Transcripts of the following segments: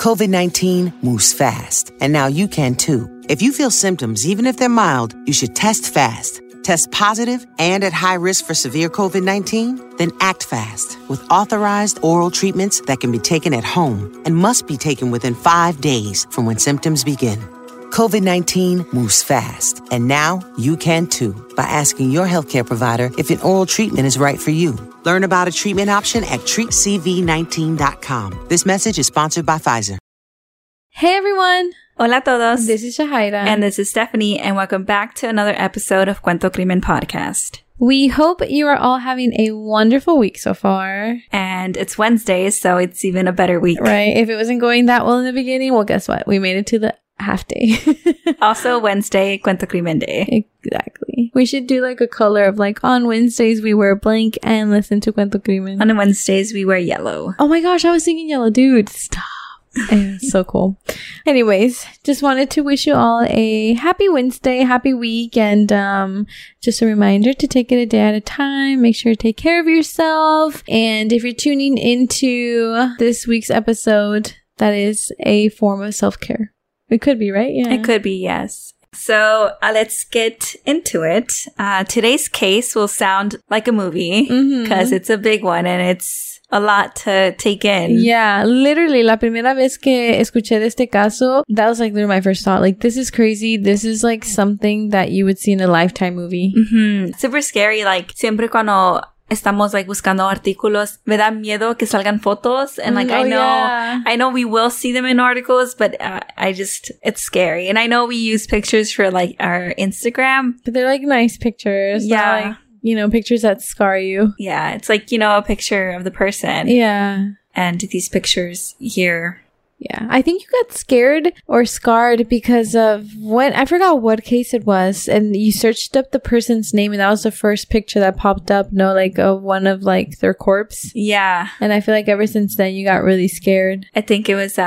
COVID-19 moves fast, and now you can too. If you feel symptoms, even if they're mild, you should test fast. Test positive and at high risk for severe COVID-19? Then act fast with authorized oral treatments that can be taken at home and must be taken within 5 days from when symptoms begin. COVID-19 moves fast, and now you can too by asking your healthcare provider if an oral treatment is right for you. Learn about a treatment option at treatcv19.com. This message is sponsored by Pfizer. Hey everyone! Hola a todos. This is Shahaira. And this is Stephanie, and welcome back to another episode of Cuento Crimen Podcast. We hope you are all having a wonderful week so far. And it's Wednesday, so it's even a better week. Right. If it wasn't going that well in the beginning, well, guess what? We made it to the half day. Also Wednesday, Cuento Crimen Day. Exactly. We should do like a color of like on Wednesdays we wear blank and listen to Cuento Crimen. On Wednesdays we wear yellow. Oh my gosh, I was thinking yellow. Dude, stop. It's so cool. Anyways, just wanted to wish you all a happy Wednesday, happy week, and just a reminder to take it a day at a time. Make sure to take care of yourself. And if you're tuning into this week's episode, that is a form of self-care. It could be, right? Yeah. It could be, yes. So let's get into it. Today's case will sound like a movie because it's a big one and it's a lot to take in. Yeah, literally, la primera vez que escuché de este caso, that was like my first thought. Like, this is crazy. This is like something that you would see in a Lifetime movie. Super scary. Like, siempre cuando estamos like buscando artículos, me da miedo que salgan fotos. And like, I know we will see them in articles, but it's scary. And I know we use pictures for like our Instagram. But they're like nice pictures. Yeah. Like, you know, pictures that scar you. Yeah, it's like, you know, a picture of the person. Yeah. And these pictures here. Yeah. I think you got scared or scarred because of I forgot what case it was, and you searched up the person's name and that was the first picture that popped up, like of one of like their corpse. Yeah. And I feel like ever since then you got really scared. I think it was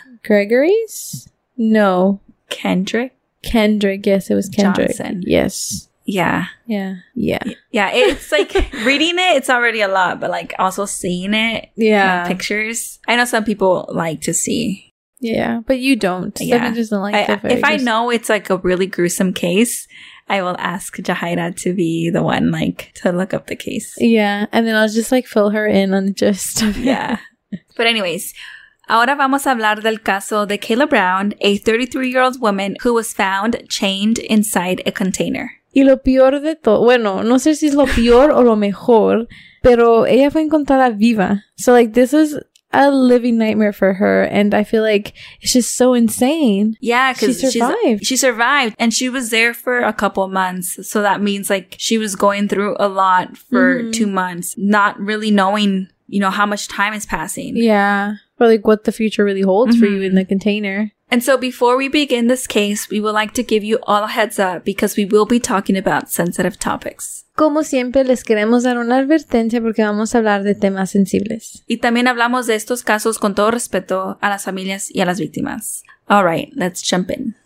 Gregory's? No. Kendrick, yes, it was Kendrick. Johnson. Yes. Yeah. It's like reading it, it's already a lot, but like also seeing it, pictures. I know some people like to see. Yeah, but you don't. Yeah. Stephanie doesn't like the if I know it's like a really gruesome case, I will ask Jahaira to be the one like to look up the case. Yeah, and then I'll just like fill her in on just yeah. But anyways, ahora vamos a hablar del caso de Kayla Brown, a 33-year-old woman who was found chained inside a container. Y lo peor de todo, bueno, no sé si es lo peor o lo mejor, pero ella fue encontrada viva. So like this is a living nightmare for her, and I feel like it's just so insane. Yeah, because she survived. She survived, and she was there for a couple months. So that means like she was going through a lot for 2 months, not really knowing, how much time is passing. Yeah, or like what the future really holds for you in the container. And so before we begin this case, we would like to give you all a heads up because we will be talking about sensitive topics. Como siempre, les queremos dar una advertencia porque vamos a hablar de temas sensibles. Y también hablamos de estos casos con todo respeto a las familias y a las víctimas. All right, let's jump in.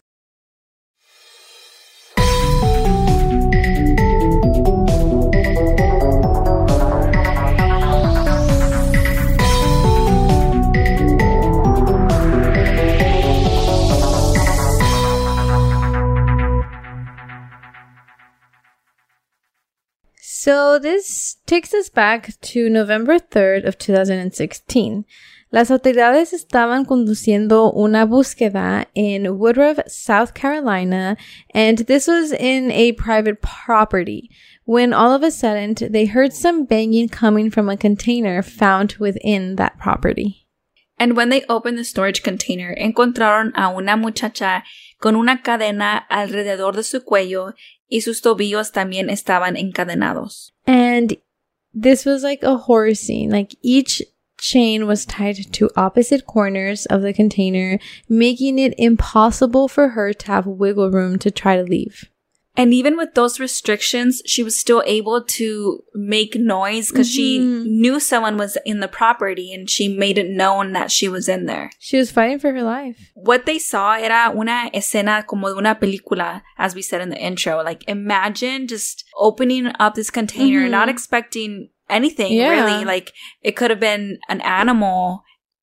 So this takes us back to November 3rd of 2016. Las autoridades estaban conduciendo una búsqueda in Woodruff, South Carolina, and this was in a private property, when all of a sudden they heard some banging coming from a container found within that property. And when they opened the storage container, encontraron a una muchacha con una cadena alrededor de su cuello y sus tobillos también estaban encadenados. And this was like a horror scene. Like each chain was tied to opposite corners of the container, making it impossible for her to have wiggle room to try to leave. And even with those restrictions, she was still able to make noise because she knew someone was in the property and she made it known that she was in there. She was fighting for her life. What they saw era una escena como de una película, as we said in the intro. Like, imagine just opening up this container, not expecting anything, really. Like, it could have been an animal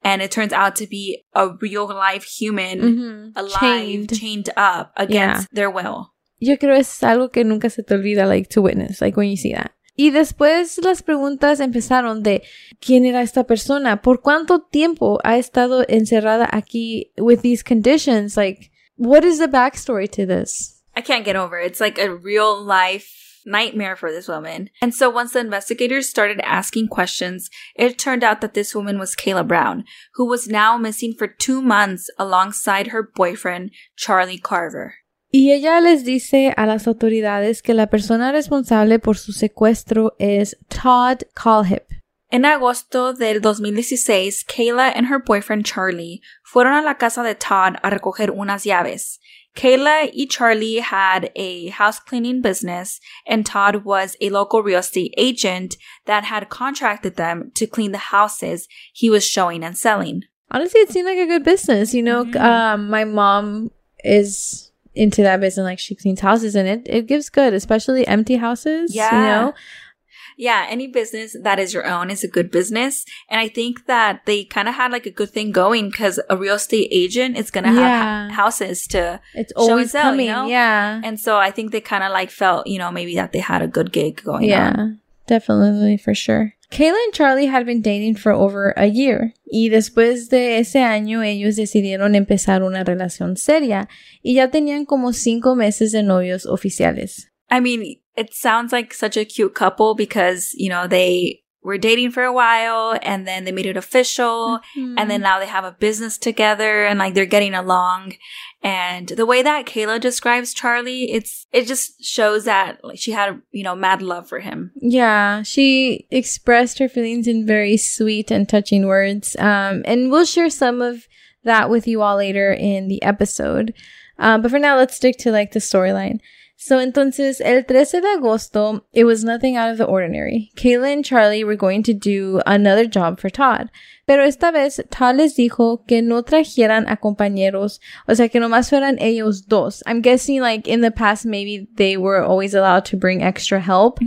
and it turns out to be a real life human alive, chained up against their will. Yo creo es algo que nunca se te olvida, like, to witness, like, when you see that. Y después las preguntas empezaron de ¿quién era esta persona? ¿Por cuánto tiempo ha estado encerrada aquí with these conditions? Like, what is the backstory to this? I can't get over it. It's like a real life nightmare for this woman. And so once the investigators started asking questions, it turned out that this woman was Kayla Brown, who was now missing for 2 months alongside her boyfriend, Charlie Carver. Y ella les dice a las autoridades que la persona responsable por su secuestro es Todd Colhip. En agosto del 2016, Kayla and her boyfriend Charlie fueron a la casa de Todd a recoger unas llaves. Kayla y Charlie had a house cleaning business, and Todd was a local real estate agent that had contracted them to clean the houses he was showing and selling. Honestly, it seemed like a good business. You know, my mom is into that business, like she cleans houses, and it gives good, especially empty houses. Yeah. You know? Yeah, any business that is your own is a good business. And I think that they kind of had like a good thing going because a real estate agent is going to have houses to show and sell, coming, you know? Yeah. And so I think they kind of like felt, you know, maybe that they had a good gig going on. Yeah, definitely, for sure. Kayla and Charlie had been dating for over a year. Y después de ese año, ellos decidieron empezar una relación seria. Y ya tenían como 5 meses de novios oficiales. I mean, it sounds like such a cute couple because, you know, they were dating for a while and then they made it official and then now they have a business together and like they're getting along. And the way that Kayla describes Charlie, it just shows that like she had, you know, mad love for him. Yeah, she expressed her feelings in very sweet and touching words. And we'll share some of that with you all later in the episode. But for now, let's stick to like the storyline. So, entonces, el 13 de agosto, it was nothing out of the ordinary. Kayla and Charlie were going to do another job for Todd. Pero esta vez, Todd les dijo que no trajeran a compañeros. O sea, que nomás fueran ellos dos. I'm guessing, like, in the past, maybe they were always allowed to bring extra help.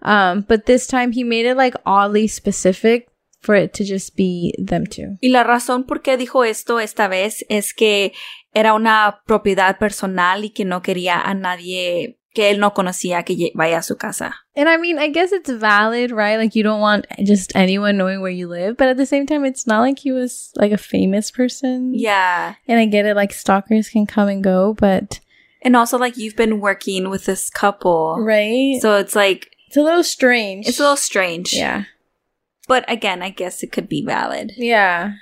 But this time, he made it, like, oddly specific for it to just be them two. Y la razón por qué dijo esto esta vez es que era una propiedad personal y que no quería a nadie que él no conocía que vaya a su casa. And I mean, I guess it's valid, right? Like, you don't want just anyone knowing where you live. But at the same time, it's not like he was, like, a famous person. Yeah. And I get it, like, stalkers can come and go, but... And also, like, you've been working with this couple. Right. So it's like... It's a little strange. It's a little strange. Yeah. But again, I guess it could be valid. Yeah.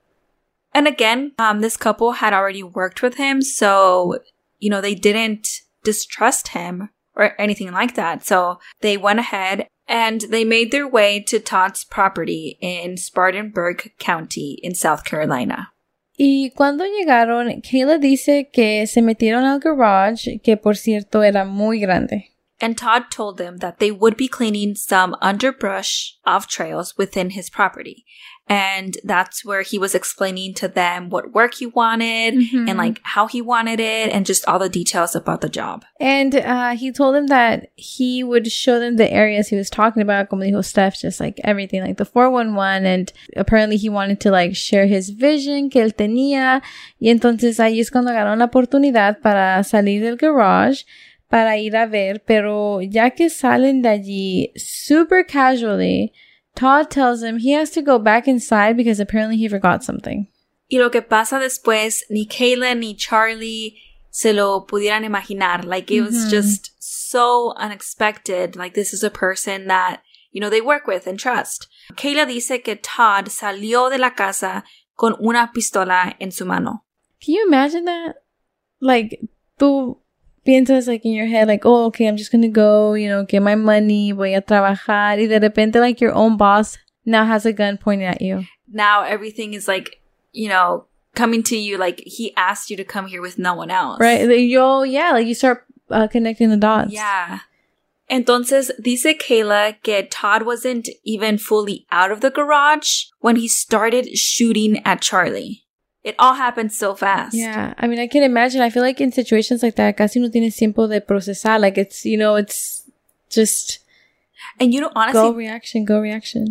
And again, this couple had already worked with him, so, you know, they didn't distrust him or anything like that. So they went ahead and they made their way to Todd's property in Spartanburg County in South Carolina. Y cuando llegaron, Kayla dice que se metieron al garage, que por cierto era muy grande. And Todd told them that they would be cleaning some underbrush off trails within his property. And that's where he was explaining to them what work he wanted and like how he wanted it and just all the details about the job. And he told them that he would show them the areas he was talking about, como dijo Steph, just like everything, like the 411. And apparently he wanted to like share his vision que él tenía. Y entonces ahí es cuando agarraron la oportunidad para salir del garage para ir a ver. Pero ya que salen de allí super casually, Todd tells him he has to go back inside because apparently he forgot something. Y lo que pasa después, ni Kayla ni Charlie se lo pudieran imaginar. Like, it was just so unexpected. Like, this is a person that, you know, they work with and trust. Kayla dice que Todd salió de la casa con una pistola en su mano. Can you imagine that? Like, tú piensas like in your head, like, oh, okay, I'm just gonna go, you know, get my money, voy a trabajar, y de repente, like, your own boss now has a gun pointing at you. Now everything is like, you know, coming to you, like, he asked you to come here with no one else. Right? Like, you start connecting the dots. Yeah. Entonces, dice Kayla que Todd wasn't even fully out of the garage when he started shooting at Charlie. It all happened so fast. Yeah. I mean, I can imagine. I feel like in situations like that, casi no tienes tiempo de procesar. Like, it's, you know, it's just... And, you know, honestly... Go reaction.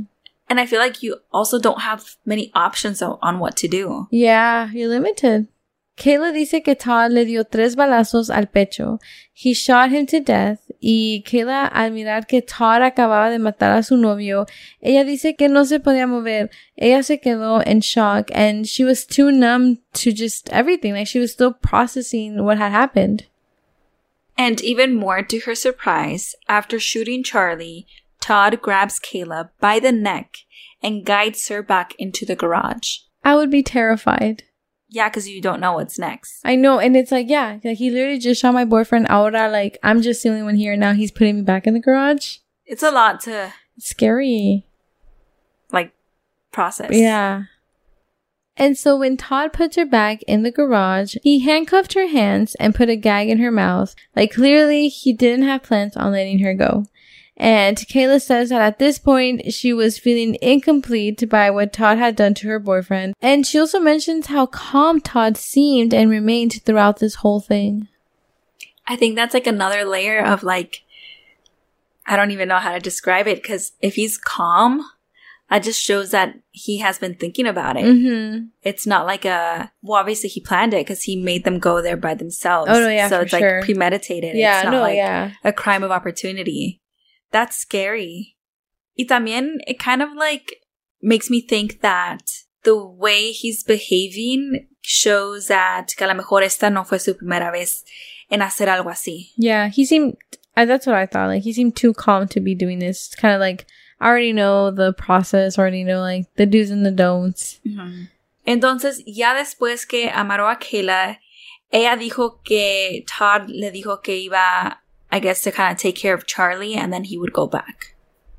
And I feel like you also don't have many options on what to do. Yeah, you're limited. Kayla dice que Todd le dio 3 balazos al pecho. He shot him to death. Y Kayla, al mirar que Todd acababa de matar a su novio, ella dice que no se podía mover. Ella se quedó in shock and she was too numb to just everything. Like, she was still processing what had happened. And even more to her surprise, after shooting Charlie, Todd grabs Kayla by the neck and guides her back into the garage. I would be terrified. Yeah, because you don't know what's next. I know, and it's like, yeah, like he literally just shot my boyfriend. Ahora, like, I'm just the only one here. Now he's putting me back in the garage. It's a lot to... It's scary. Like, process. Yeah. And so when Todd puts her back in the garage, he handcuffed her hands and put a gag in her mouth. Like, clearly, he didn't have plans on letting her go. And Kayla says that at this point, she was feeling incomplete by what Todd had done to her boyfriend. And she also mentions how calm Todd seemed and remained throughout this whole thing. I think that's like another layer of like, I don't even know how to describe it, because if he's calm, that just shows that he has been thinking about it. Mm-hmm. It's not like well, obviously he planned it because he made them go there by themselves. Oh, no, yeah, so for it's sure. like premeditated. Yeah, it's not no, like yeah. a crime of opportunity. That's scary. Y también, it kind of like makes me think that the way he's behaving shows that a lo mejor esta no fue su primera vez en hacer algo así. Yeah, he seemed, that's what I thought. Like, he seemed too calm to be doing this. Kind of like, I already know the process, already know like the do's and the don'ts. Mm-hmm. Entonces, ya después que amarró a Kayla, ella dijo que Todd le dijo que iba, I guess, to kind of take care of Charlie and then he would go back.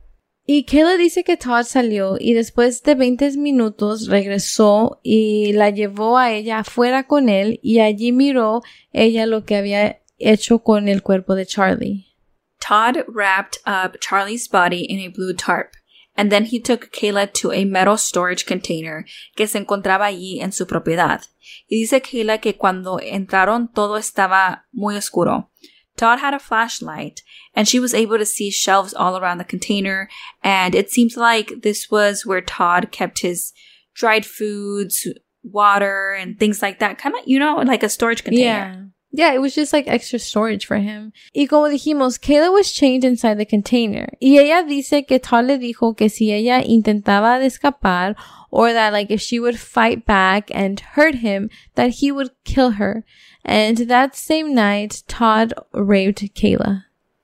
Y Kayla dice que Todd salió y después de 20 minutos regresó y la llevó a ella afuera con él y allí miró ella lo que había hecho con el cuerpo de Charlie. Todd wrapped up Charlie's body in a blue tarp and then he took Kayla to a metal storage container que se encontraba allí en su propiedad. Y dice Kayla que cuando entraron todo estaba muy oscuro. Todd had a flashlight, and she was able to see shelves all around the container, and it seems like this was where Todd kept his dried foods, water, and things like that. Kind of, like a storage container. Yeah, it was just like extra storage for him. Y como dijimos, Kayla was chained inside the container. Y ella dice que Todd le dijo que si ella intentaba de escapar, or that like if she would fight back and hurt him, that he would kill her. And that same night, Todd raped Kayla.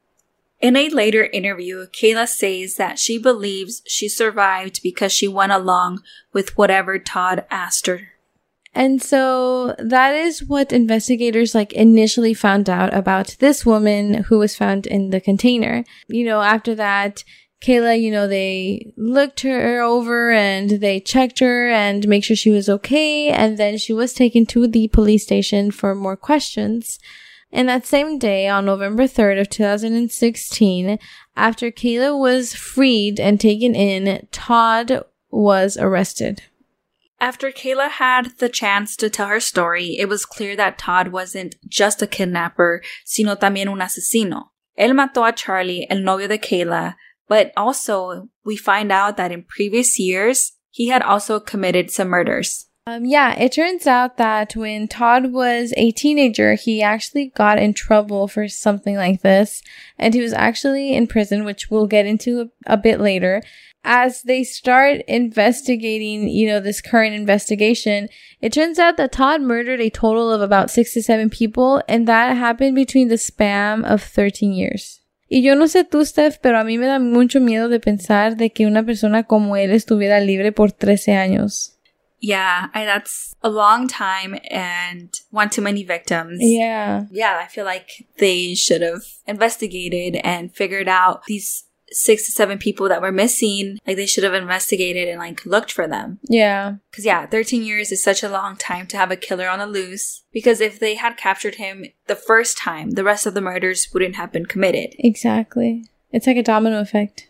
In a later interview, Kayla says that she believes she survived because she went along with whatever Todd asked her. And so that is what investigators like initially found out about this woman who was found in the container. After that, Kayla, they looked her over and they checked her and make sure she was okay. And then she was taken to the police station for more questions. And that same day, on November 3rd of 2016, after Kayla was freed and taken in, Todd was arrested. After Kayla had the chance to tell her story, it was clear that Todd wasn't just a kidnapper, sino también un asesino. Él mató a Charlie, el novio de Kayla, but also we find out that in previous years, he had also committed some murders. It turns out that when Todd was a teenager, he actually got in trouble for something like this, and he was actually in prison, which we'll get into a bit later. As they start investigating, this current investigation, it turns out that Todd murdered a total of about 6 to 7 people, and that happened between the span of 13 years. Y yo no sé tú, Steph, pero a mí me da mucho miedo de pensar de que una persona como él estuviera libre por 13 años. Yeah, that's a long time and one too many victims. Yeah. Yeah, I feel like they should have investigated and figured out these 6 to 7 people that were missing. Like, they should have investigated and, like, looked for them. Yeah. Because, 13 years is such a long time to have a killer on the loose. Because if they had captured him the first time, the rest of the murders wouldn't have been committed. Exactly. It's like a domino effect.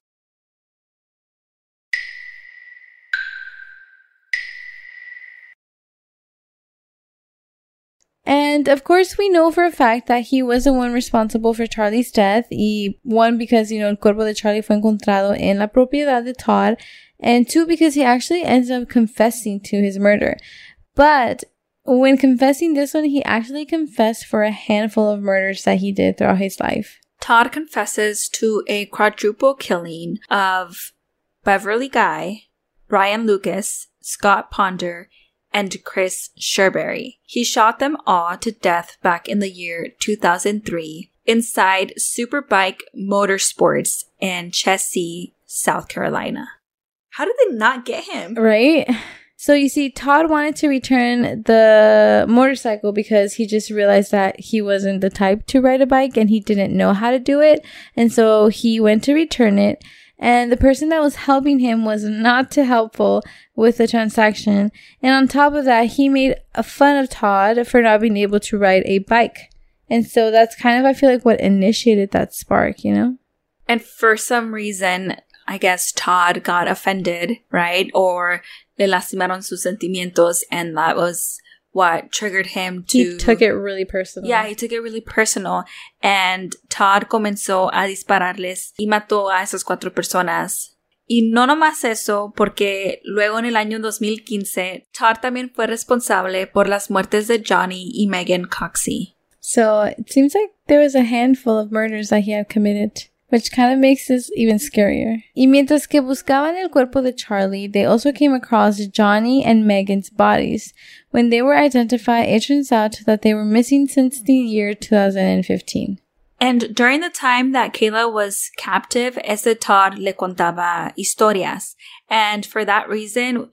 And of course, we know for a fact that he was the one responsible for Charlie's death. Y one, because, el cuerpo de Charlie fue encontrado en la propiedad de Todd. And two, because he actually ends up confessing to his murder. But when confessing this one, he actually confessed for a handful of murders that he did throughout his life. Todd confesses to a quadruple killing of Beverly Guy, Brian Lucas, Scott Ponder, and Chris Sherberry. He shot them all to death back in the year 2003 inside Superbike Motorsports in Chessie, South Carolina. How did they not get him? Right? So you see, Todd wanted to return the motorcycle because he just realized that he wasn't the type to ride a bike and he didn't know how to do it. And so he went to return it. And the person that was helping him was not too helpful with the transaction. And on top of that, he made fun of Todd for not being able to ride a bike. And so that's kind of, I feel like, what initiated that spark, And for some reason, I guess Todd got offended, right? Or le lastimaron sus sentimientos, and that was what triggered him to... He took it really personal. Yeah, he took it really personal. And Todd comenzó a dispararles y mató a esas 4 personas. Y no nomás eso, porque luego en el año 2015, Todd también fue responsable por las muertes de Johnny y Megan Coxey. So it seems like there was a handful of murders that he had committed, which kind of makes this even scarier. Y mientras que buscaban el cuerpo de Charlie, they also came across Johnny and Megan's bodies. When they were identified, it turns out that they were missing since the year 2015. And during the time that Kayla was captive, ese Todd le contaba historias. And for that reason,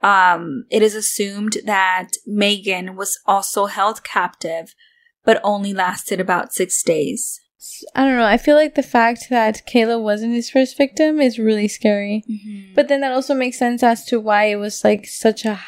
it is assumed that Megan was also held captive, but only lasted about 6 days. I don't know. I feel like the fact that Kayla wasn't his first victim is really scary. Mm-hmm. But then that also makes sense as to why it was such a,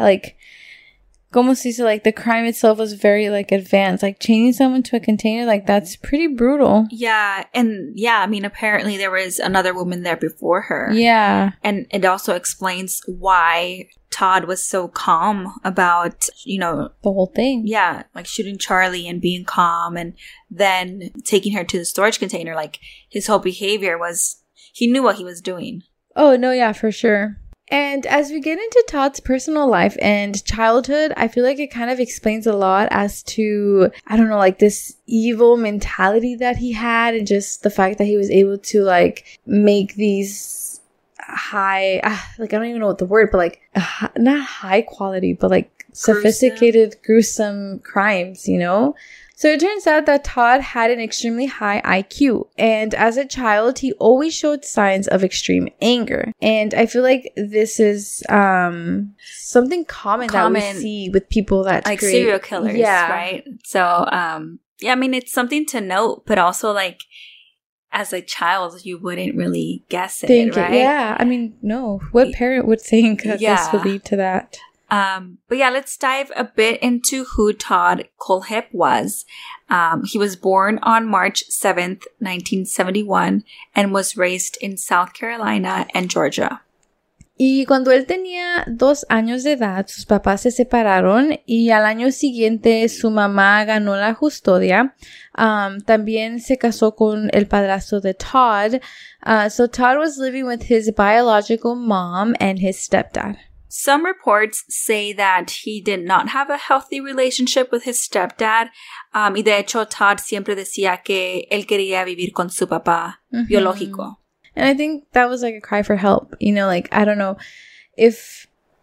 como se dice, the crime itself was very advanced. Chaining someone to a container, that's pretty brutal. Yeah. And yeah, I mean, apparently there was another woman there before her. Yeah. And it also explains why Todd was so calm about, the whole thing. Yeah. Shooting Charlie and being calm and then taking her to the storage container. His whole behavior was, he knew what he was doing. Oh, no, yeah, for sure. And as we get into Todd's personal life and childhood, I feel like it kind of explains a lot as to, I don't know, this evil mentality that he had and just the fact that he was able to, make these high, I don't even know what the word, but not high quality, but sophisticated, gruesome crimes, So it turns out that Todd had an extremely high IQ, and as a child, he always showed signs of extreme anger. And I feel like this is something common that we see with people that serial killers, right? So, yeah, I mean, it's something to note, but also as a child, you wouldn't really guess it, right? Yeah, I mean, no. What parent would think that this would lead to that? But yeah, let's dive a bit into who Todd Kohlhepp was. He was born on March 7th, 1971, and was raised in South Carolina and Georgia. Y cuando él tenía 2 años de edad, sus papás se separaron y al año siguiente su mamá ganó la custodia. También se casó con el padrastro de Todd. So Todd was living with his biological mom and his stepdad. Some reports say that he did not have a healthy relationship with his stepdad. Y de hecho, Todd siempre decía que él quería vivir con su papá biológico. And I think that was a cry for help. I don't know if...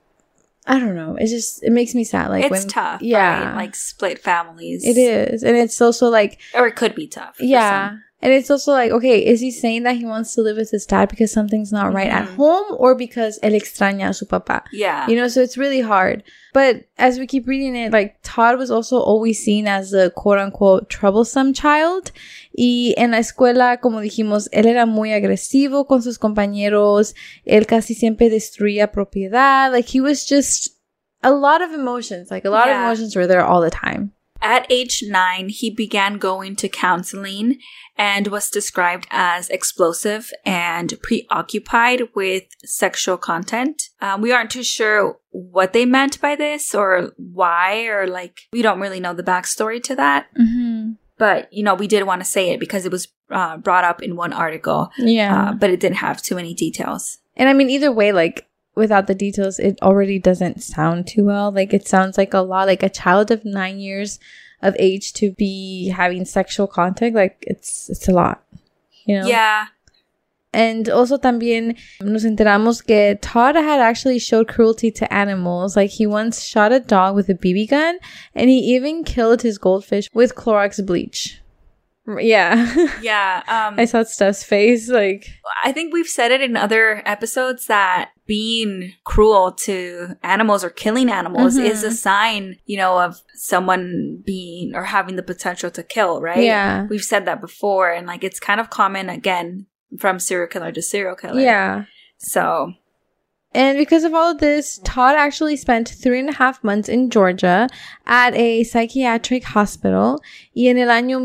I don't know. It makes me sad. It's tough, yeah. Right? Split families. It is. And it's also or it could be tough. Yeah. And it's also okay, is he saying that he wants to live with his dad because something's not right at home or because él extraña a su papá? Yeah. So it's really hard. But as we keep reading it, Todd was also always seen as the quote-unquote troublesome child. Y en la escuela, como dijimos, él era muy agresivo con sus compañeros. Él casi siempre destruía propiedad. He was just a lot of emotions. A lot of emotions were there all the time. At age 9, he began going to counseling and was described as explosive and preoccupied with sexual content. We aren't too sure what they meant by this or why, or like, we don't really know the backstory to that. Mm-hmm. But, you know, we did want to say it because it was brought up in one article. Yeah. But it didn't have too many details. And I mean, either way, like, without the details, it already doesn't sound too well. Like, it sounds like a lot, like a child of 9 years of age to be having sexual contact. Like, it's a lot, you know? Yeah. And also también nos enteramos que Todd had actually showed cruelty to animals. Like, he once shot a dog with a BB gun, and he even killed his goldfish with Clorox bleach. Yeah. Yeah. I saw Steph's face. Like, I think we've said it in other episodes that being cruel to animals or killing animals is a sign, you know, of someone being or having the potential to kill, right? Yeah. We've said that before, and like it's kind of common again from serial killer to serial killer. Yeah. So. And because of all of this, Todd actually spent 3.5 months in Georgia at a psychiatric hospital. Y en el año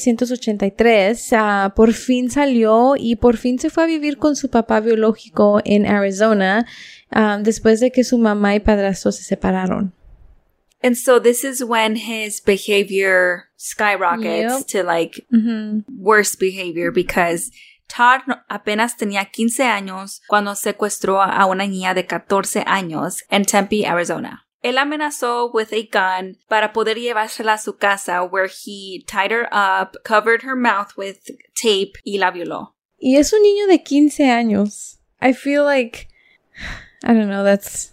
1983, por fin salió y por fin se fue a vivir con su papá biológico en Arizona, después de que su mamá y padrastro se separaron. And so this is when his behavior skyrockets to like worse behavior because Todd apenas tenía 15 años cuando secuestró a una niña de 14 años en Tempe, Arizona. Él amenazó with a gun para poder llevársela a su casa where he tied her up, covered her mouth with tape y la violó. Y es un niño de 15 años. I feel like, I don't know, it's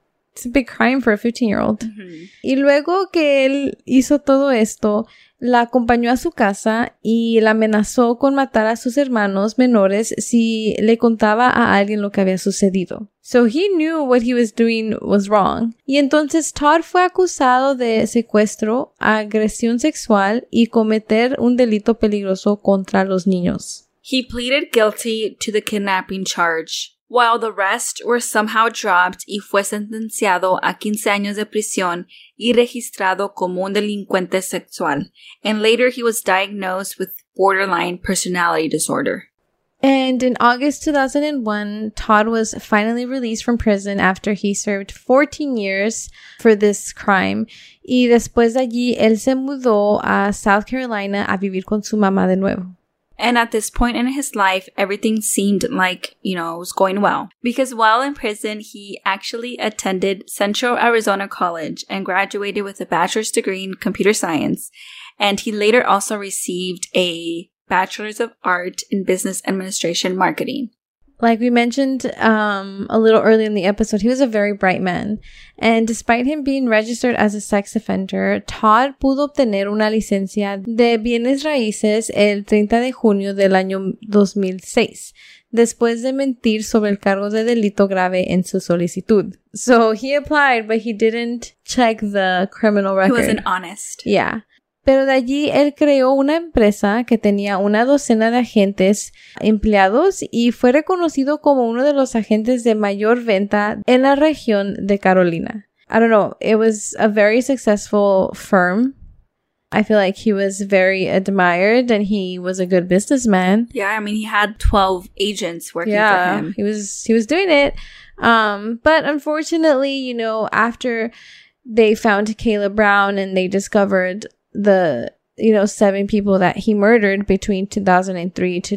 a big crime for a 15-year-old. Mm-hmm. Y luego que él hizo todo esto, la acompañó a su casa y la amenazó con matar a sus hermanos menores si le contaba a alguien lo que había sucedido. So he knew what he was doing was wrong. Y entonces Todd fue acusado de secuestro, agresión sexual y cometer un delito peligroso contra los niños. He pleaded guilty to the kidnapping charge, while the rest were somehow dropped y fue sentenciado a 15 años de prisión y registrado como un delincuente sexual. And later he was diagnosed with borderline personality disorder. And in August 2001, Todd was finally released from prison after he served 14 years for this crime. Y después de allí, él se mudó a South Carolina a vivir con su mamá de nuevo. And at this point in his life, everything seemed like, you know, it was going well. Because while in prison, he actually attended Central Arizona College and graduated with a bachelor's degree in computer science. And he later also received a bachelor's of art in business administration marketing. Like we mentioned a little earlier in the episode, he was a very bright man. And despite him being registered as a sex offender, Todd pudo obtener una licencia de bienes raíces el 30 de junio del año 2006, después de mentir sobre el cargo de delito grave en su solicitud. So he applied, but he didn't check the criminal record. He wasn't honest. Yeah. Pero de allí él creó una empresa que tenía una docena de agentes empleados y fue reconocido como uno de los agentes de mayor venta en la región de Carolina. I don't know, it was a very successful firm. I feel like he was very admired and he was a good businessman. Yeah, I mean, he had 12 agents working for him. He was doing it. But unfortunately, you know, after they found Caleb Brown and they discovered the 7 people that he murdered between 2003 to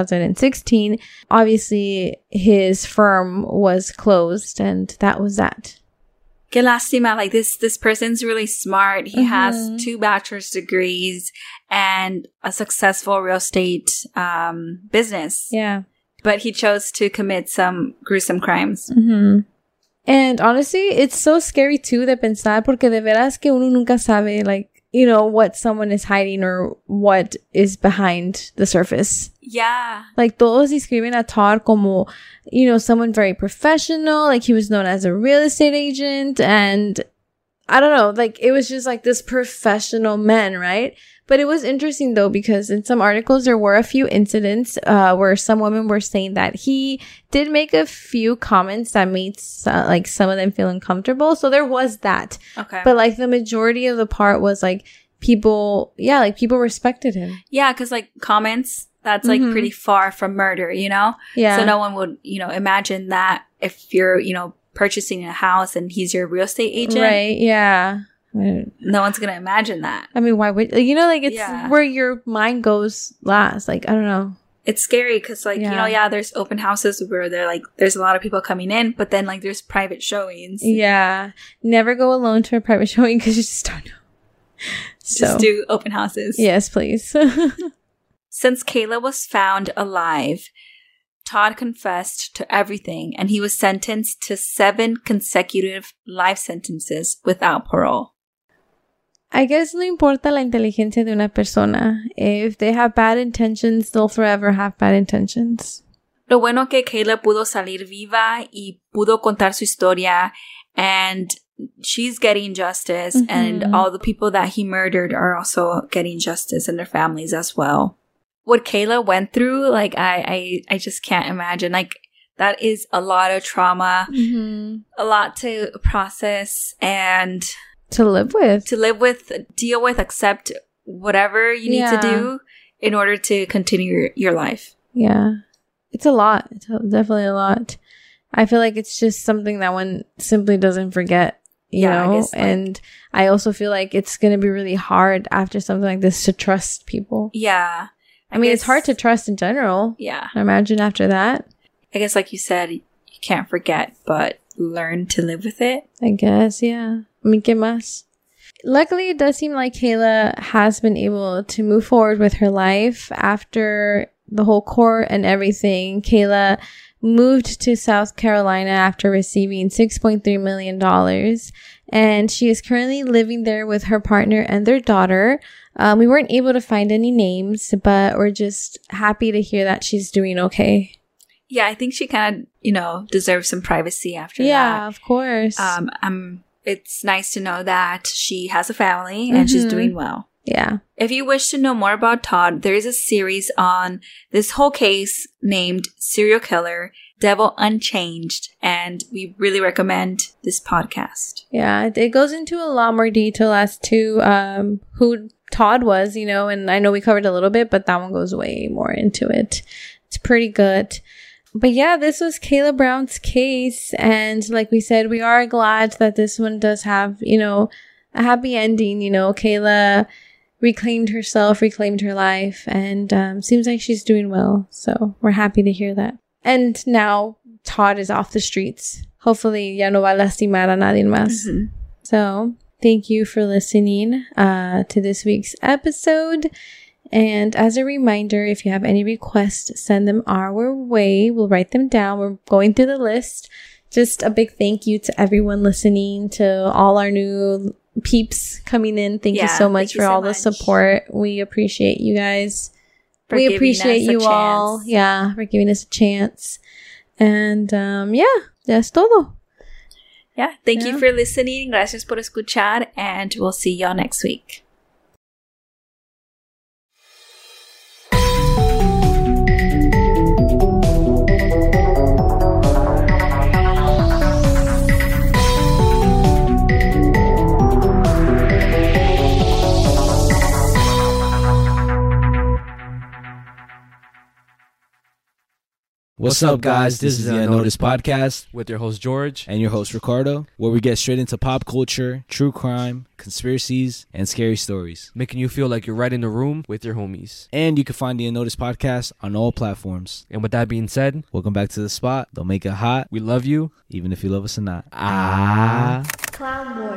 2016, obviously his firm was closed and that was that. Qué lástima, like this person's really smart. He has 2 bachelor's degrees and a successful real estate business. Yeah. But he chose to commit some gruesome crimes. Mm-hmm. And honestly, it's so scary too de pensar porque de veras que uno nunca sabe, like, you know, what someone is hiding or what is behind the surface. Yeah. Like, todos describen a Todd como, you know, someone very professional. Like, he was known as a real estate agent. And I don't know, like, it was just like this professional man, right? But it was interesting, though, because in some articles, there were a few incidents where some women were saying that he did make a few comments that made, like, some of them feel uncomfortable. So there was that. Okay. But, like, the majority of the part was, like, people respected him. Yeah, because like comments, that's like pretty far from murder, you know? Yeah. So no one would, imagine that if you're, purchasing a house and he's your real estate agent. Right, yeah. No one's going to imagine that. I mean, why would, it's where your mind goes last. Like, I don't know. It's scary because, there's open houses where there's a lot of people coming in, but then, there's private showings. Yeah. Never go alone to a private showing because you just don't know. Just do open houses. Yes, please. Since Kayla was found alive, Todd confessed to everything, and he was sentenced to 7 consecutive life sentences without parole. I guess no importa la inteligencia de una persona. If they have bad intentions, they'll forever have bad intentions. Lo bueno que Kayla pudo salir viva y pudo contar su historia, and she's getting justice, and all the people that he murdered are also getting justice, and their families as well. What Kayla went through, I just can't imagine. That is a lot of trauma, a lot to process and to live with, deal with, accept whatever you need to do in order to continue your life. Yeah. It's a lot. It's definitely a lot. I feel like it's just something that one simply doesn't forget, you know? I guess, and I also feel like it's going to be really hard after something like this to trust people. Yeah. I mean, it's hard to trust in general. Yeah. Imagine after that. I guess, like you said, you can't forget, but learn to live with it. I guess, yeah. I mean, ¿qué más? Luckily, it does seem like Kayla has been able to move forward with her life after the whole court and everything. Kayla moved to South Carolina after receiving $6.3 million. And she is currently living there with her partner and their daughter. We weren't able to find any names, but we're just happy to hear that she's doing okay. Yeah, I think she kind of, deserves some privacy after that. Yeah, of course. It's nice to know that she has a family and she's doing well. Yeah. If you wish to know more about Todd, there is a series on this whole case named Serial Killer, Devil Unchanged, and we really recommend this podcast. Yeah, it goes into a lot more detail as to who Todd was, and I know we covered a little bit, but that one goes way more into it. It's pretty good. But yeah, this was Kayla Brown's case, and like we said, we are glad that this one does have, a happy ending. Kayla reclaimed herself, reclaimed her life, and seems like she's doing well. So we're happy to hear that. And now Todd is off the streets. Hopefully, ya no va a lastimar a nadie más. So thank you for listening to this week's episode. And as a reminder, if you have any requests, send them our way. We'll write them down. We're going through the list. Just a big thank you to everyone listening, to all our new peeps coming in. Thank you so much for all the support. We appreciate you guys. We appreciate you all. Yeah, for giving us a chance. And that's todo. Yeah, thank you for listening. Gracias por escuchar. And we'll see y'all next week. What's up, guys? This is the Unnoticed Podcast with your host, George. And your host, Ricardo, where we get straight into pop culture, true crime, conspiracies, and scary stories. Making you feel like you're right in the room with your homies. And you can find the Unnoticed Podcast on all platforms. And with that being said, welcome back to the spot. Don't make it hot. We love you, even if you love us or not. Clown Boy.